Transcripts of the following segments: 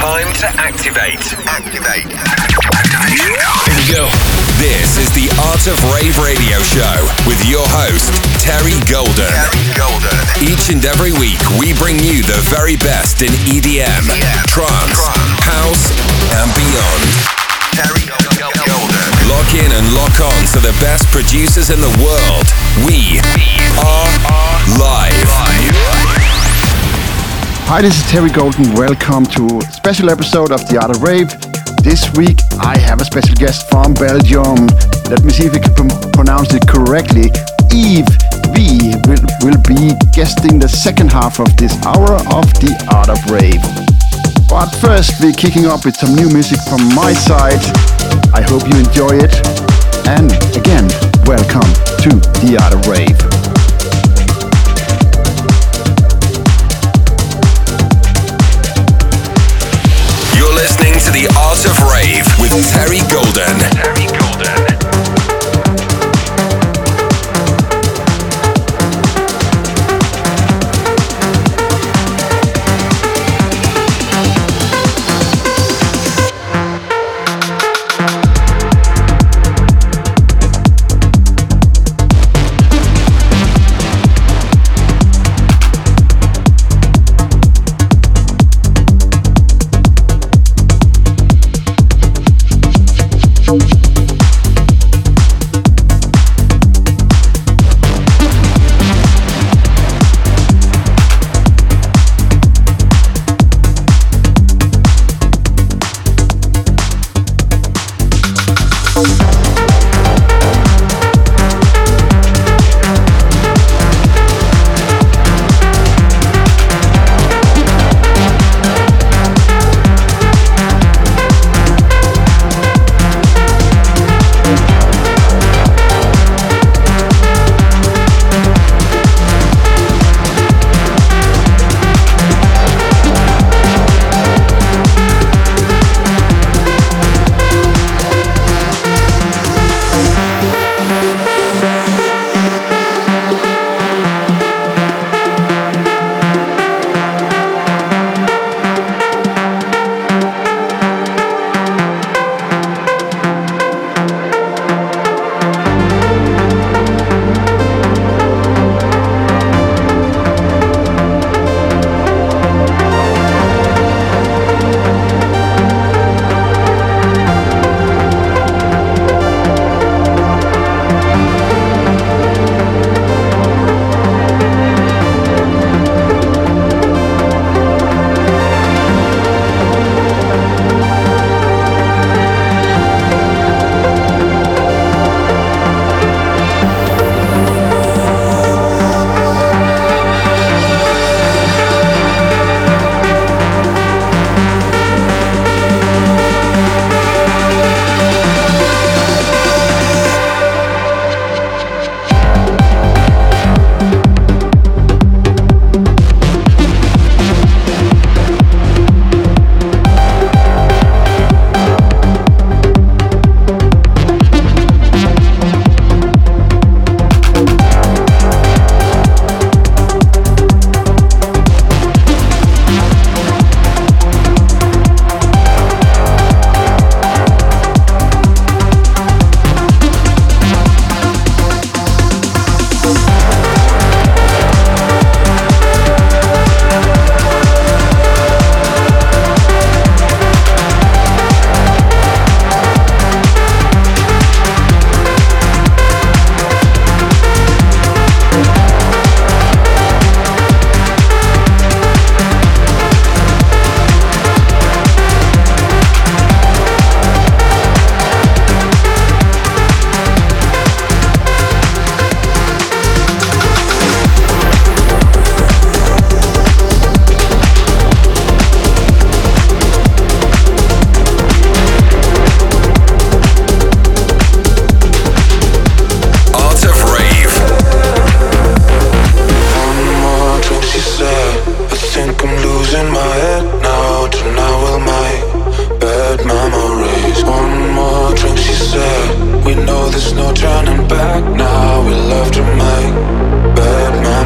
Time to activate. Activation code. Here we go. This is the Art of Rave radio show with your host, Terry Golden. Each and every week, we bring you the very best in EDM, trance, house, and beyond. Terry Golden. Lock in and lock on to the best producers in the world. We are live. Hi, this is Terry Golden. Welcome to a special episode of The Art of Rave. This week I have a special guest from Belgium. Let me see if I can pronounce it correctly. Yves V will be guesting the second half of this hour of The Art of Rave. But first we're kicking off with some new music from my side. I hope you enjoy it. And again, welcome to The Art of Rave. Listening to The Art of Rave with Terry Golden. Terry Golden.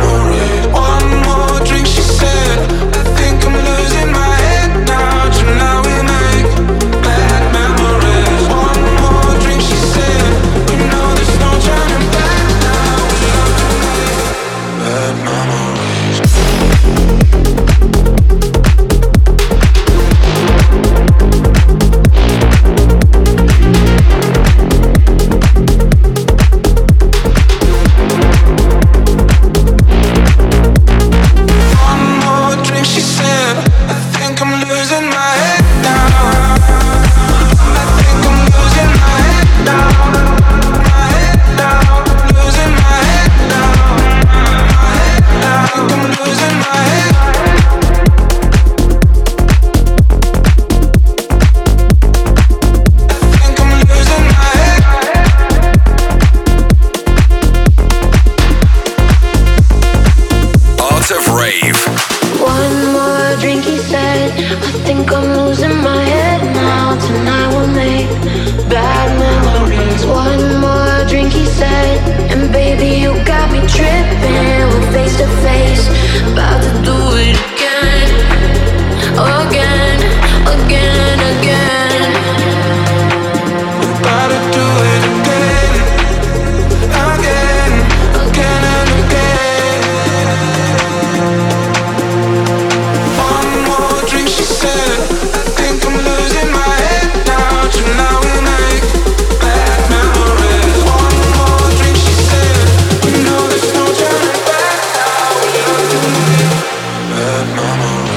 One more drink, she said. I think I'm losing my head now. Tonight said. And baby, you got me tripping. We're face to face, about to do it again. Again, again, again. About to do it again. Again, again and again. One more drink, she said. I think I'm losing my head now. Tonight we make bad memories. One more drink, she said. We know there's no turning back now. We love to make bad memories.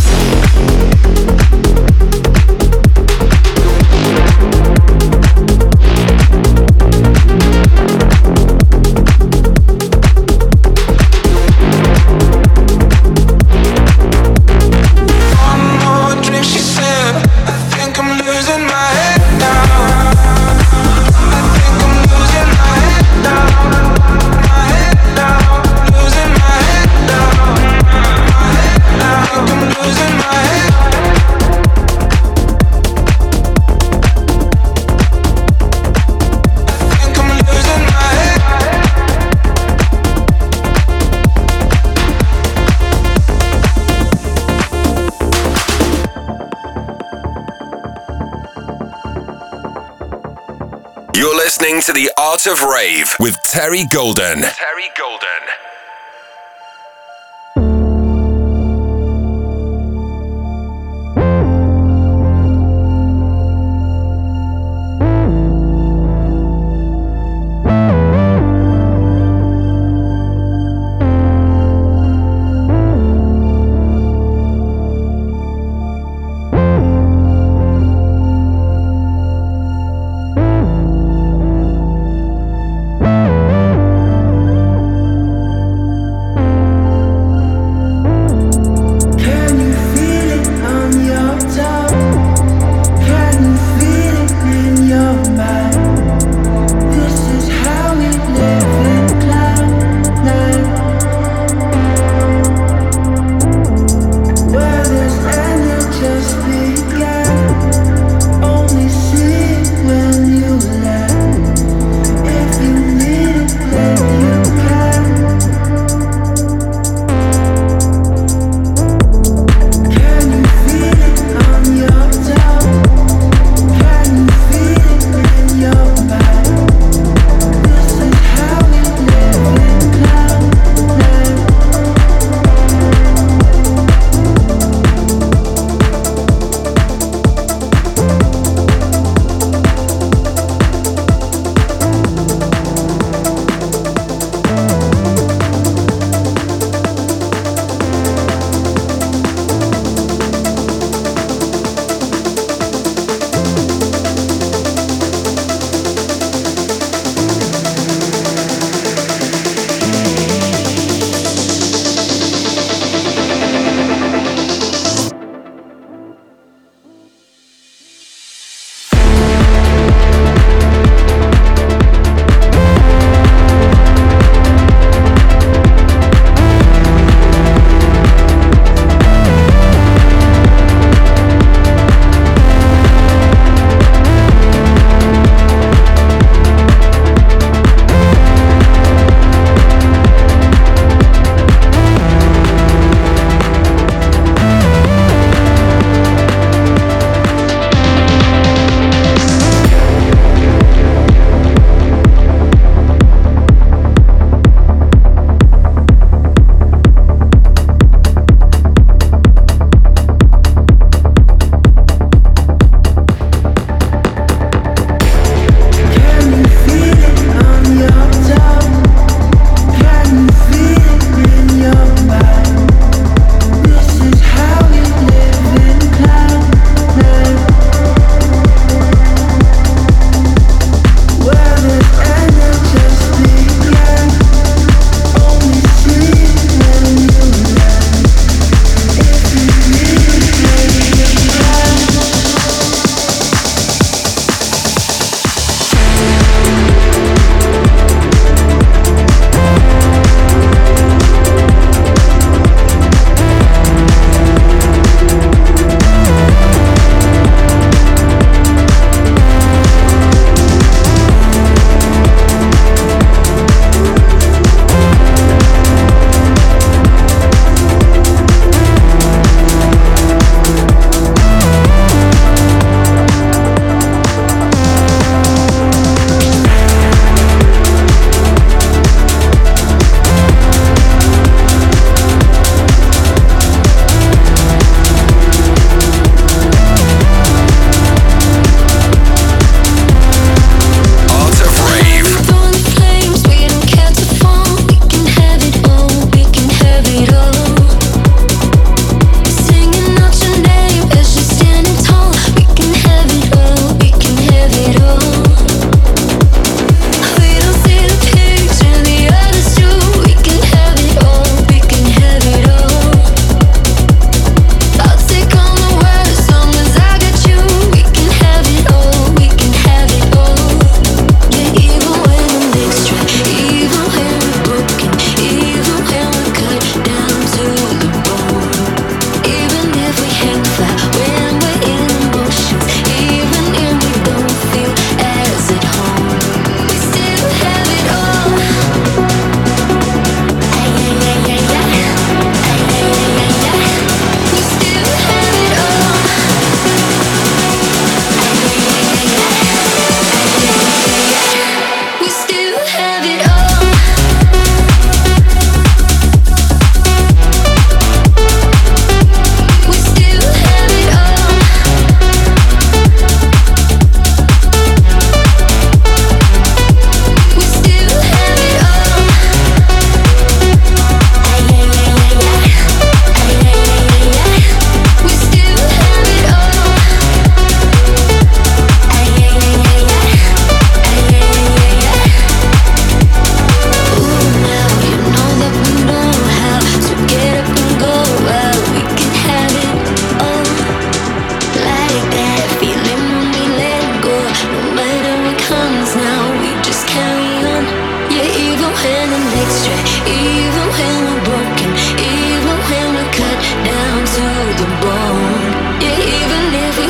You're listening to The Art of Rave with Terry Golden. Terry Golden.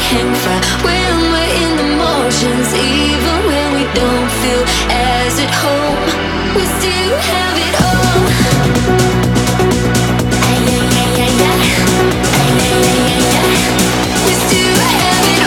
hang fire when we're in the motions. Even when we don't feel as at home, we still have it all. Ay, ay, ay, ay, ay. Ay, ay, ay, ay, ay. We still have it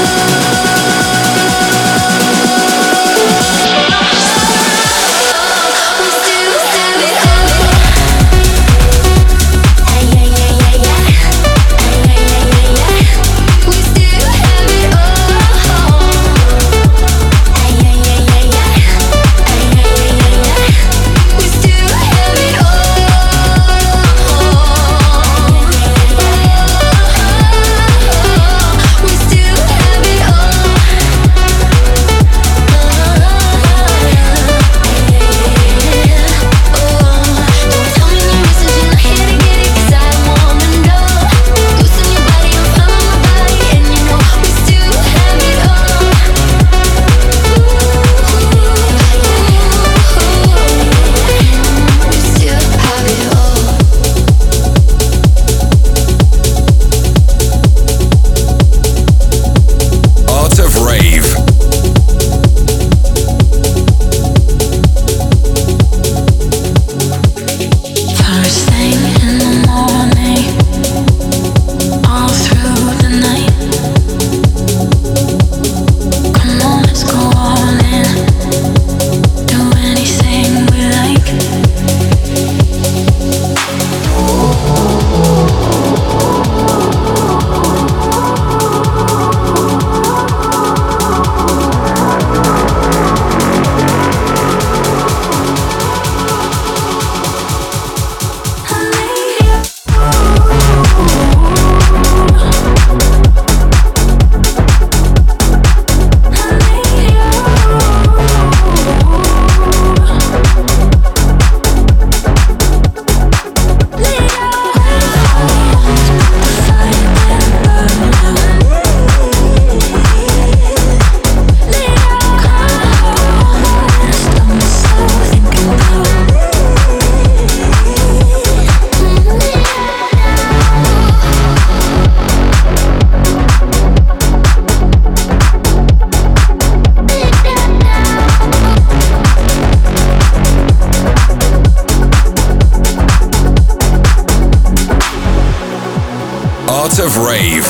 Of Rave.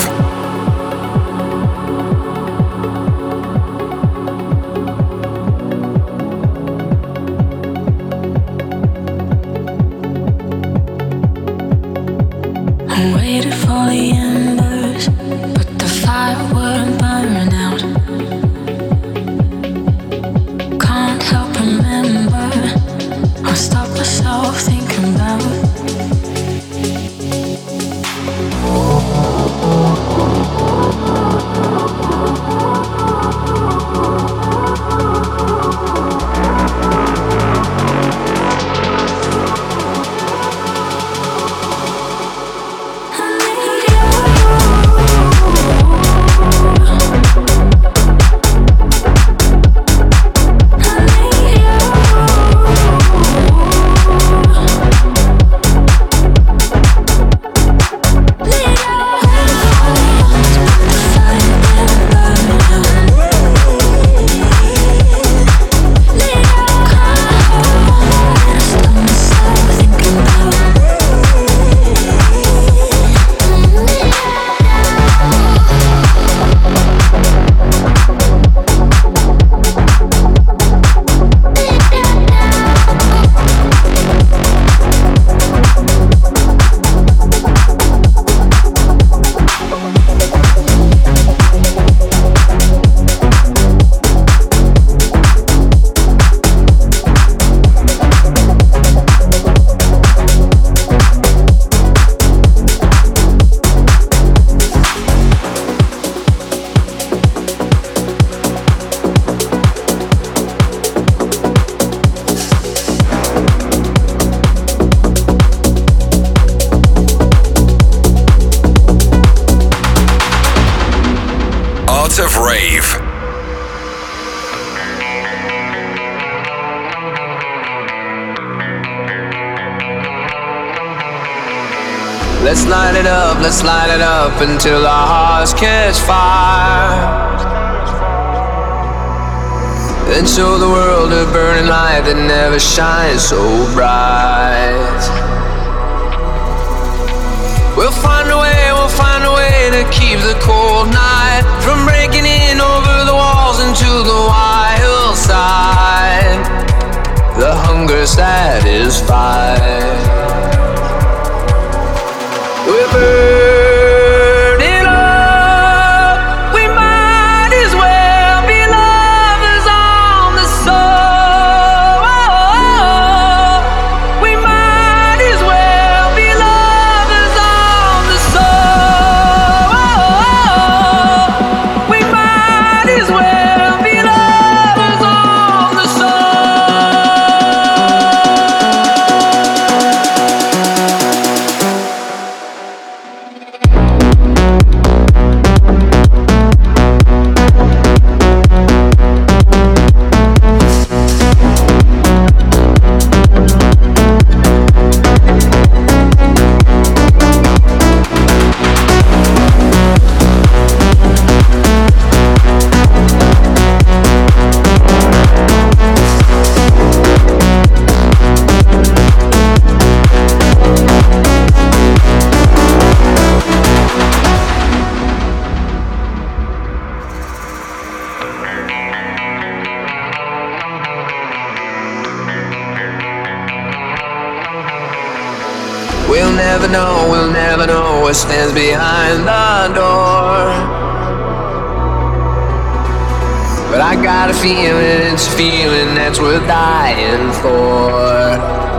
I waited for the embers, but the fire wouldn't burn out. Can't help remember, I stop myself thinking about of Rave. Let's light it up until our hearts catch fire. Then show the world a burning light that never shines so bright. We'll find a way to keep the cold night from breaking in over the walls into the wild side. The hunger satisfied. We're burning up. We might as well be lovers on the soul. We might as well be lovers on the soul. We might as well be lovers on the soul. We'll never know what stands behind the door. But I got a feeling, it's a feeling that's worth dying for.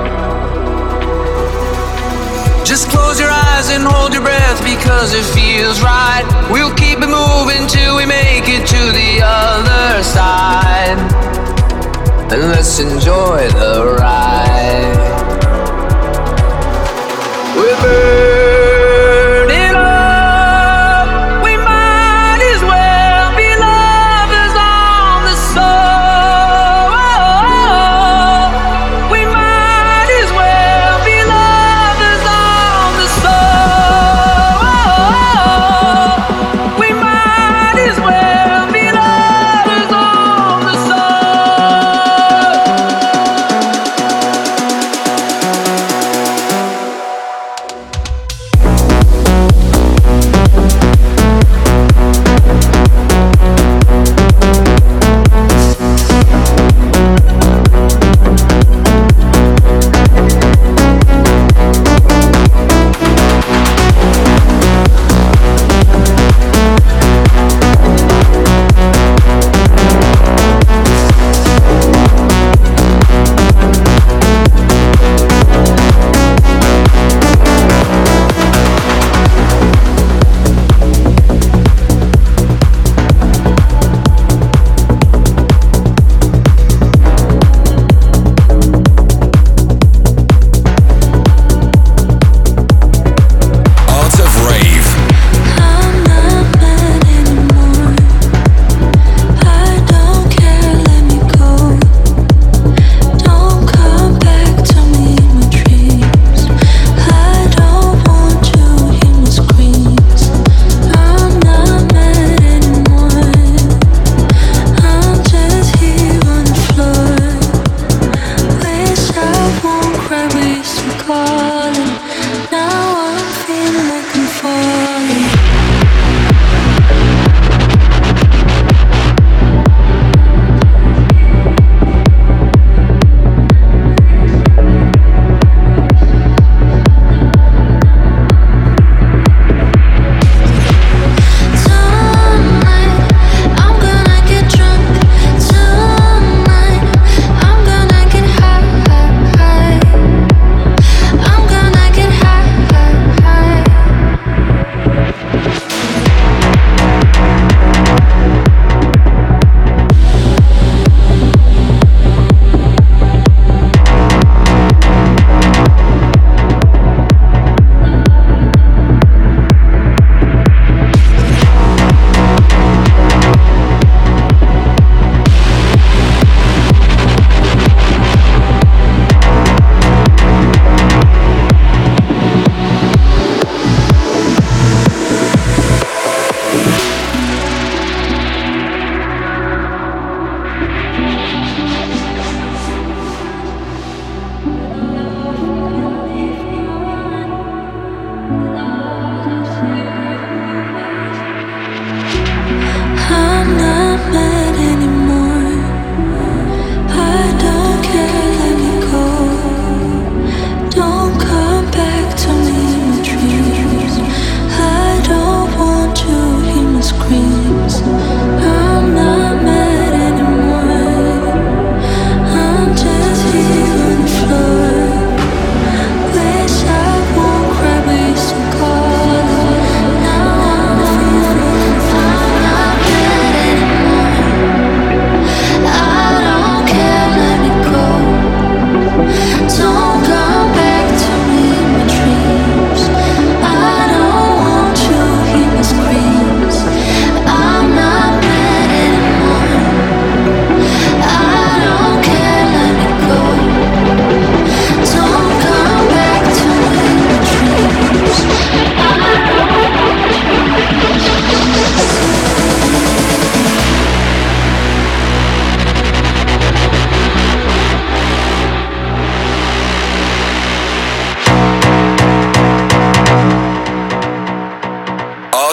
Just close your eyes and hold your breath because it feels right. We'll keep it moving till we make it to the other side. And let's enjoy the ride. We're burning up. We might as well be lovers on the soul. We might as well be lovers on the soul. We might as well be lovers on the soul.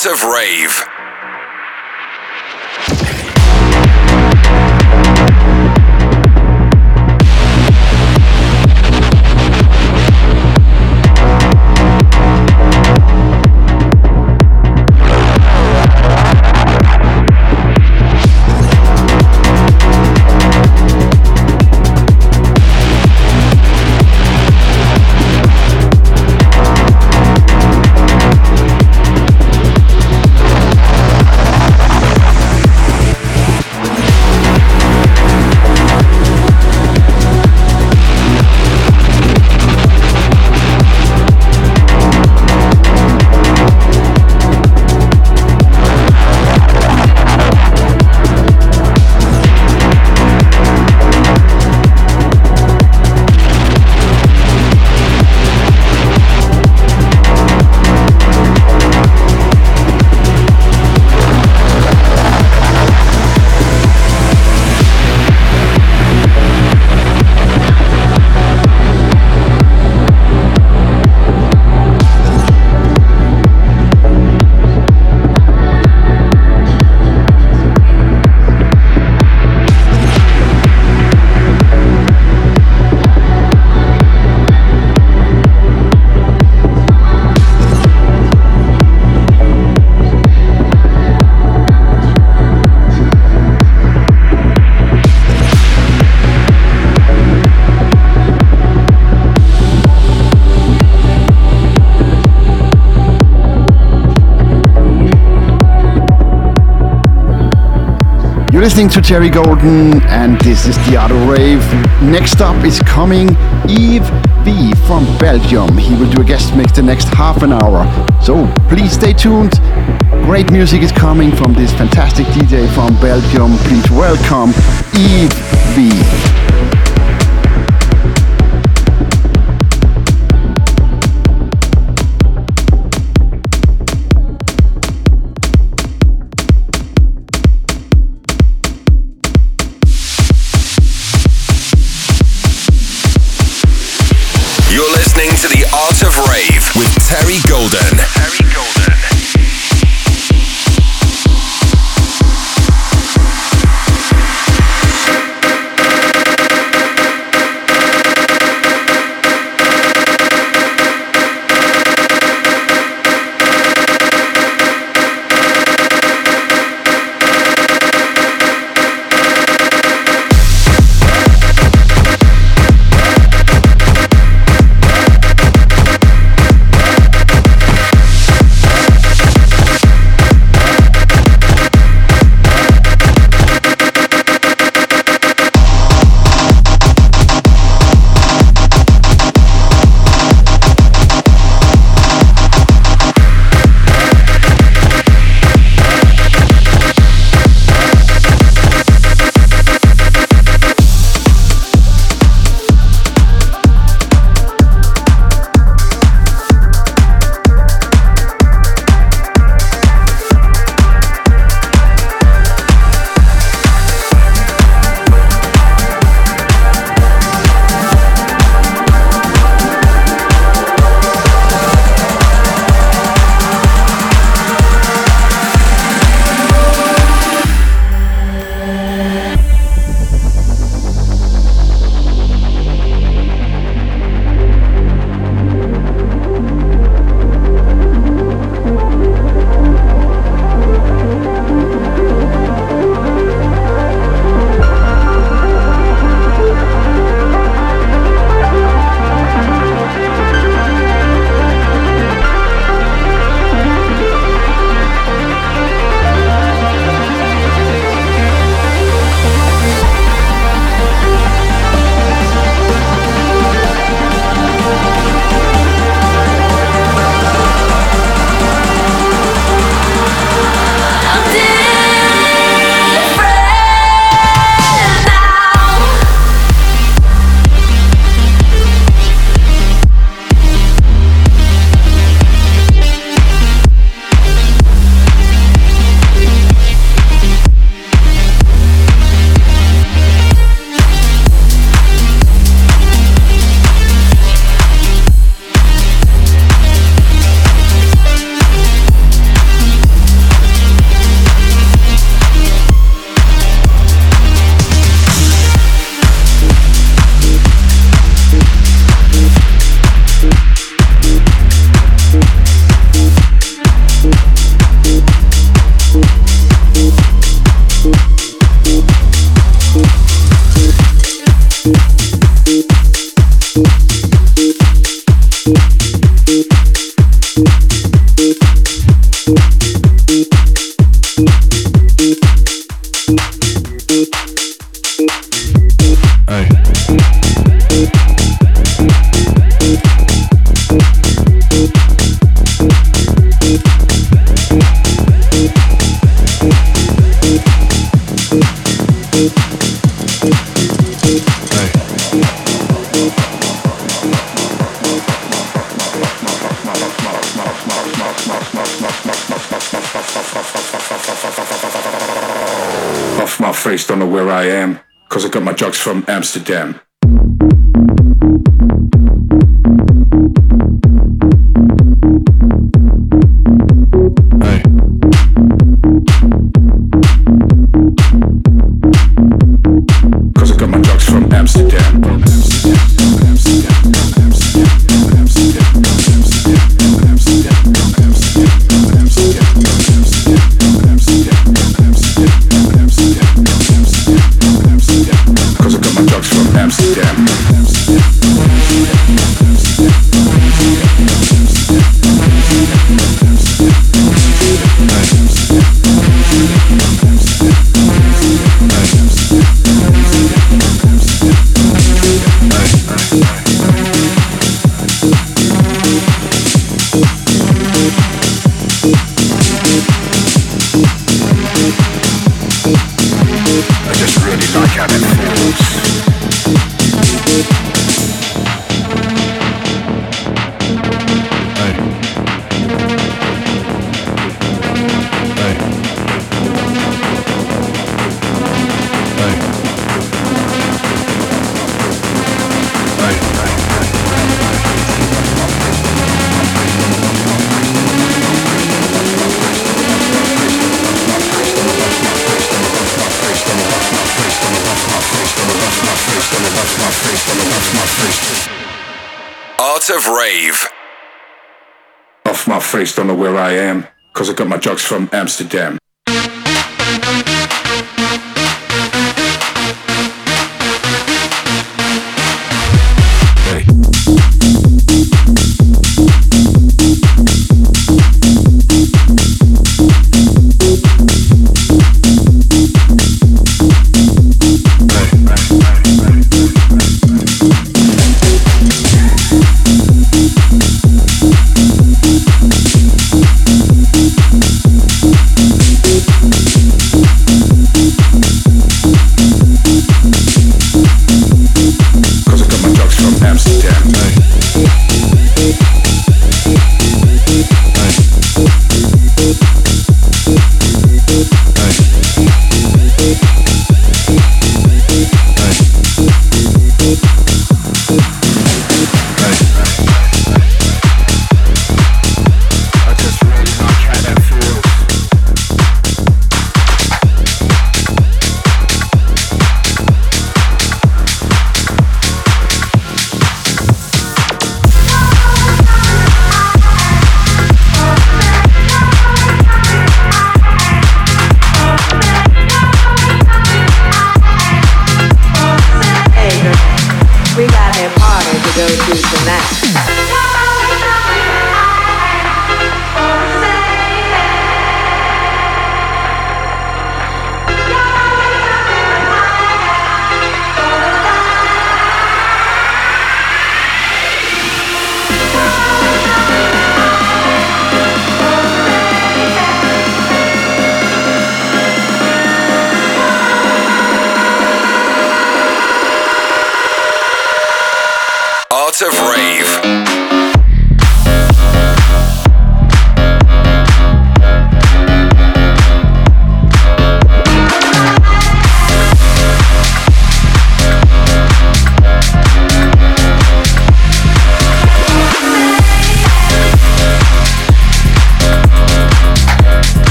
Art of Rave. You're listening to Terry Golden, and this is the Art of Rave. Next up is coming Yves V from Belgium. He will do a guest mix the next half an hour, so please stay tuned. Great music is coming from this fantastic DJ from Belgium. Please welcome Yves V. To the Art of Rave with Terry Golden. Terry Golden. my face, don't know where I am, cause I got my drugs from Amsterdam. Hey. Cause I got my drugs from Amsterdam. Cause I got my drugs from Amsterdam. I just really like how that feels. Hey. Hey. Hey. Art of Rave. Off my face, don't know where I am, cause I got my drugs from Amsterdam. Hey. Art of Rave.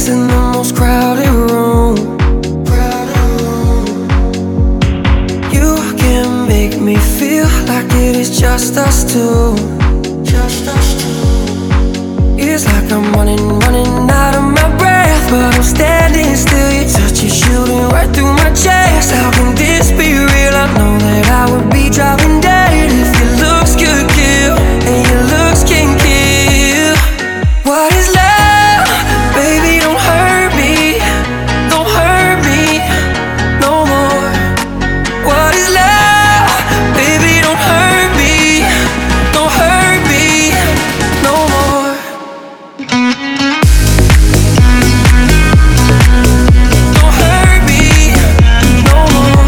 place in the most crowded room. You can make me feel like it is just us two. It's like I'm running out of my breath, but I'm standing still. Your touch is shooting right through my chest. How can this be real? I know that I would be dropping dead if your looks could kill, and your looks can kill. What is love? Baby, don't hurt me. Don't hurt me no more. What is love? Baby, don't hurt me. Don't hurt me no more. Don't hurt me no more.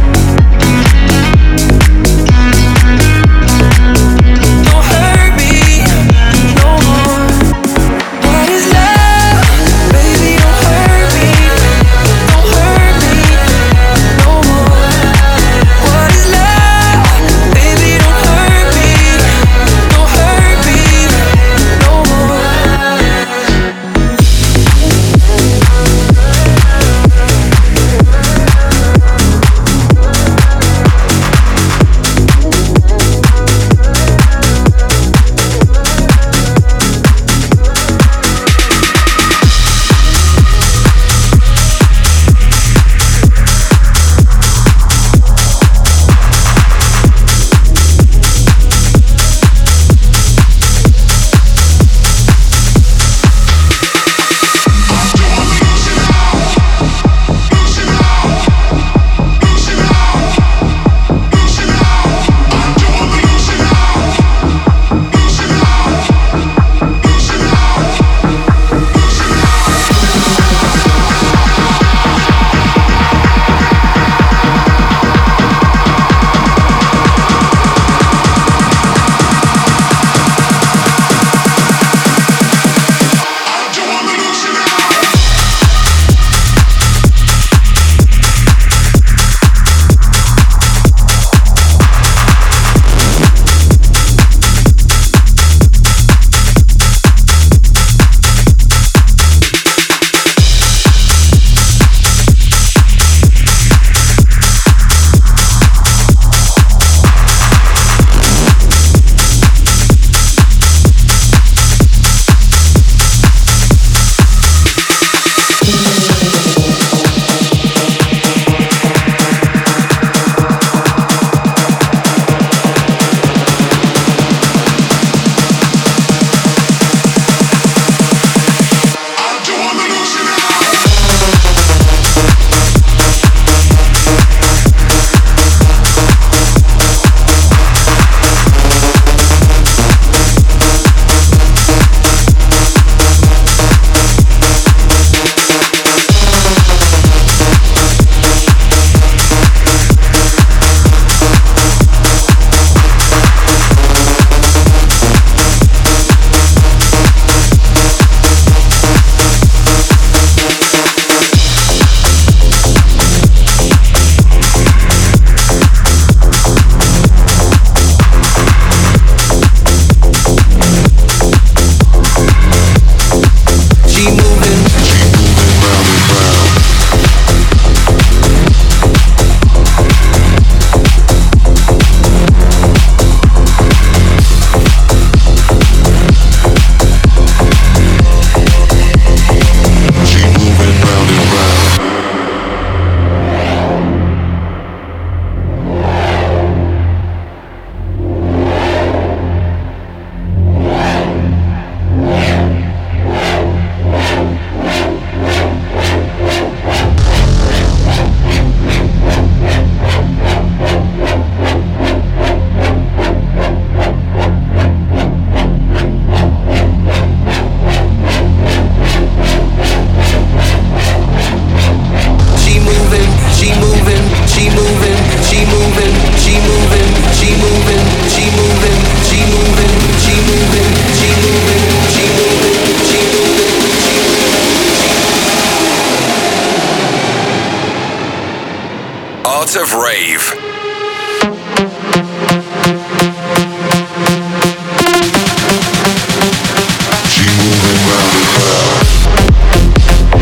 Don't hurt me no more. What is love? Baby, don't hurt me. Don't hurt me no more. What is love? Baby, don't hurt me. Don't hurt me no more. Art of Rave. She moving round and round.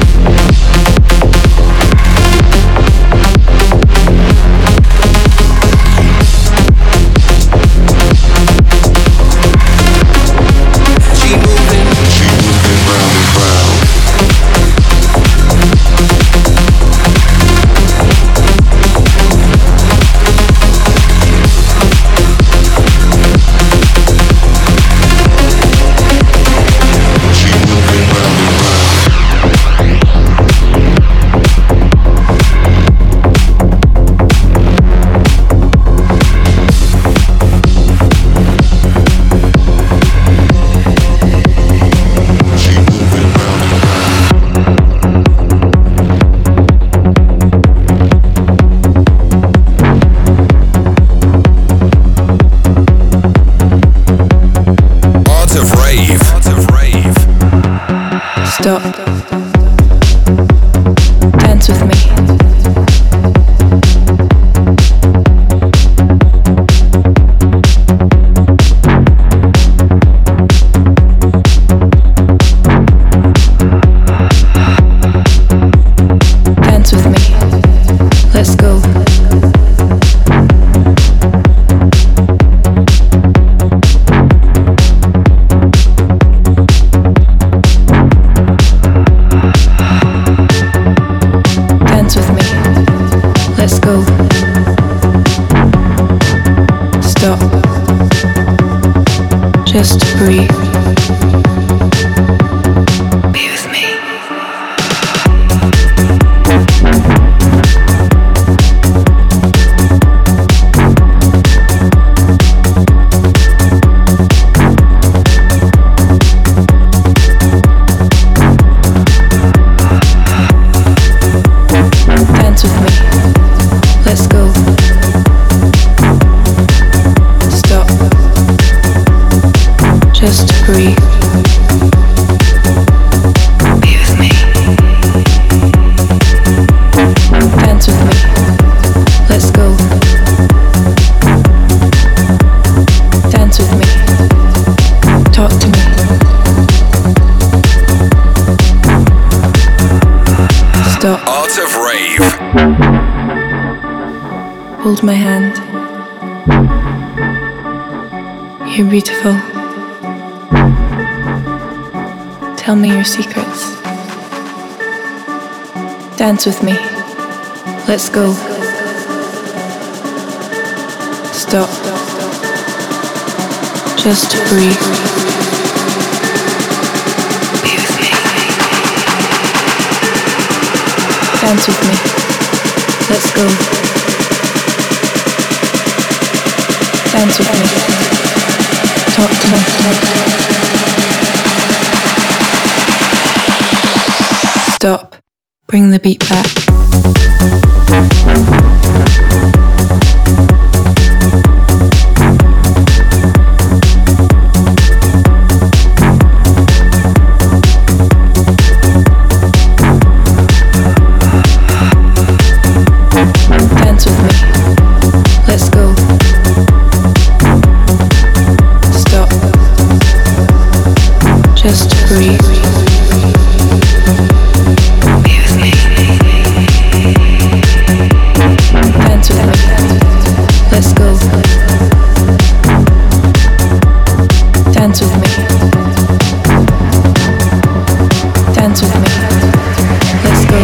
Stop. Dance with me. Dance with me. Let's go. Dance with me. Let's go. Stop. Just breathe. Be with me. Dance with me. Let's go. Stop. Just breathe. Be with me. Dance with me. Let's go. Dance with me. Talk to me. Stop. Art of Rave. Hold my hand. You're beautiful. Tell me your secrets. Dance with me. Let's go. Stop. Just breathe. Be with me. Dance with me. Let's go. Dance with me. Talk to me. Stop. Bring the beat back. Dance with me. Let's go. Stop. Just breathe. Be with me. Dance with me. Let's go. Dance with me. Dance with me. Let's go.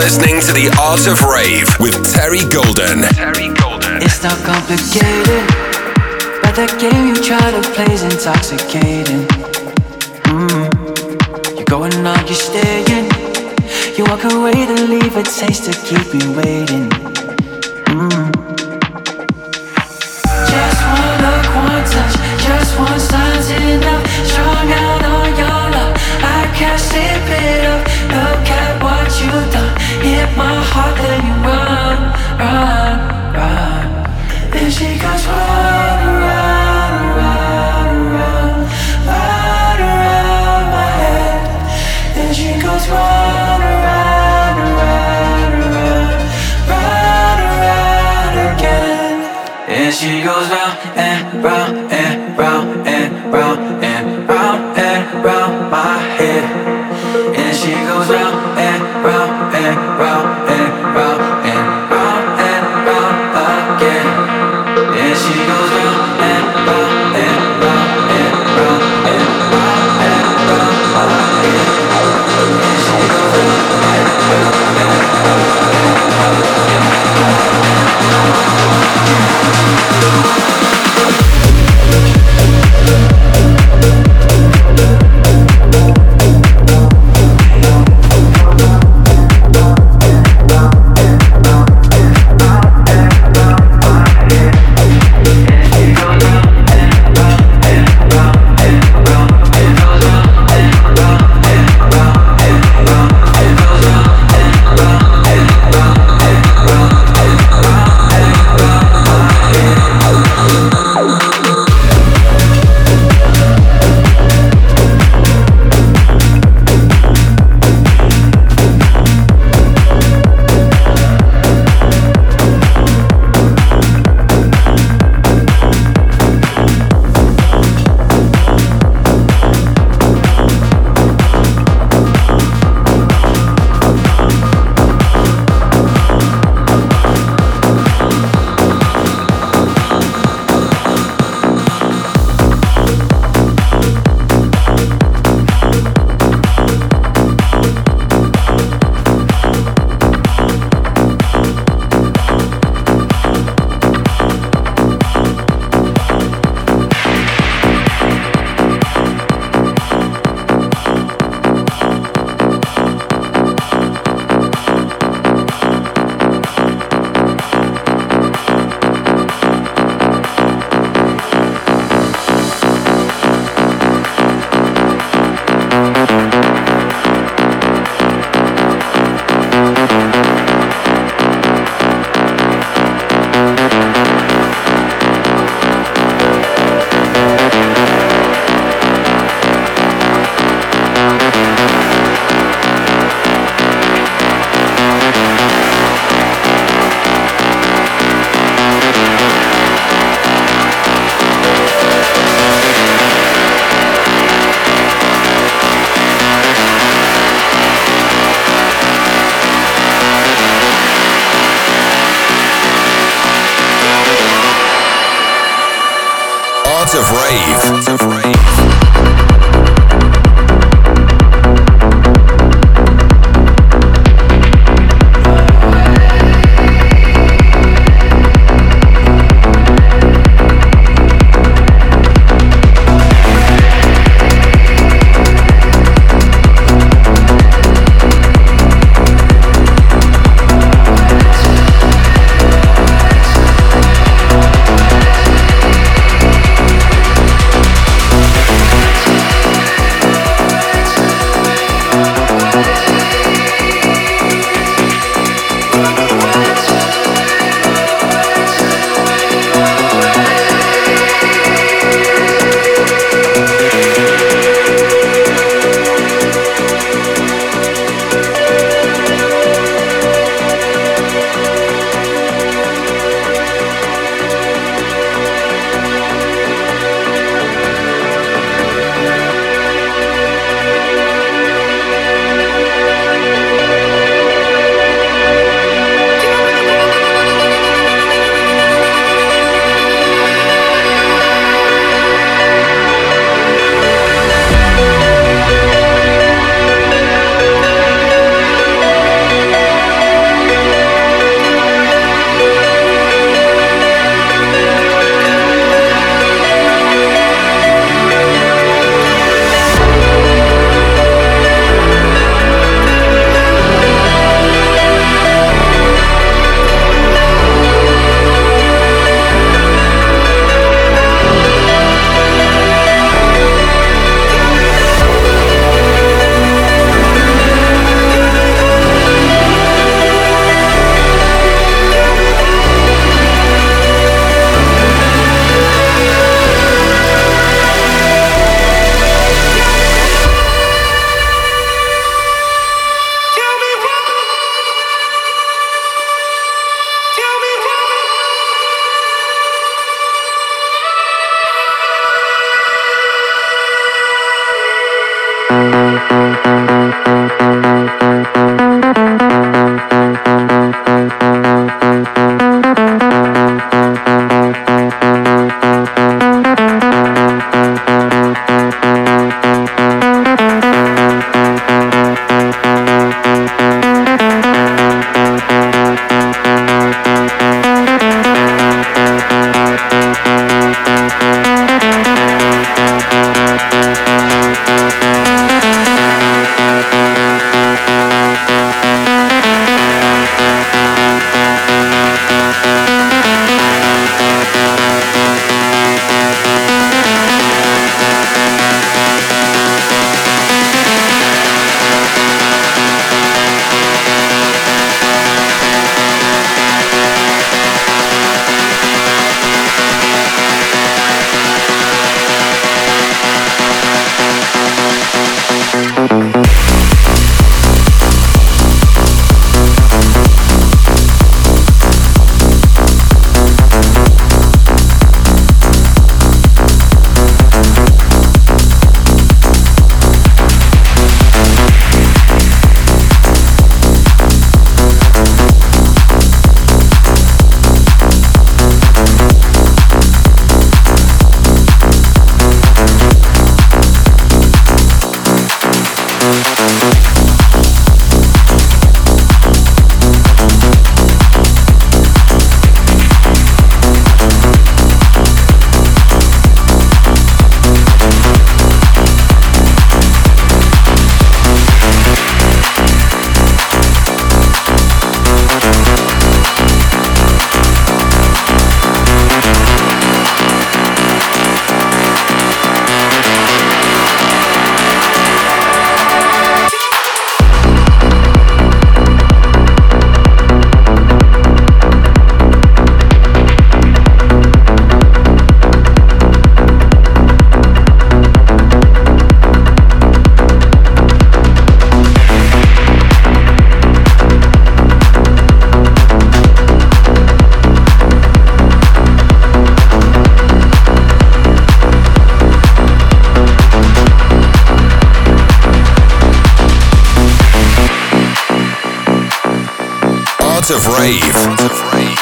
listening to The Art of Rave with Terry Golden. It's not complicated, but that game you try to play is intoxicating. You're going on, you're staying. You walk away to leave a taste to keep me waiting. Just one look, one touch, just one sign's enough. Strung out on your love, I can't sleep it up. Look at what you've done. Hit my heart, then you run, run, run. Then she goes run, run, run, run, run around my head. Then she goes run, run, run, run, run around again. And she goes round and round and round and round and round and round my head. And she goes round and round and round and round and round and round again. And she goes round and round and round and round and round and round again. And she goes round and round and round and round. Art of Rave.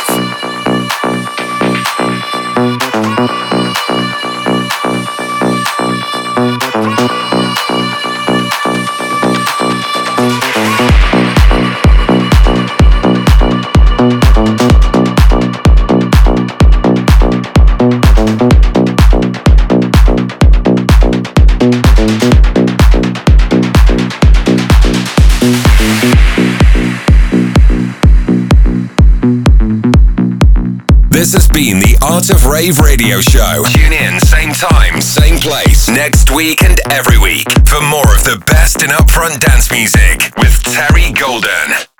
This has been the Art of Rave radio show. Tune in, same time, same place, next week and every week for more of the best in upfront dance music with Terry Golden.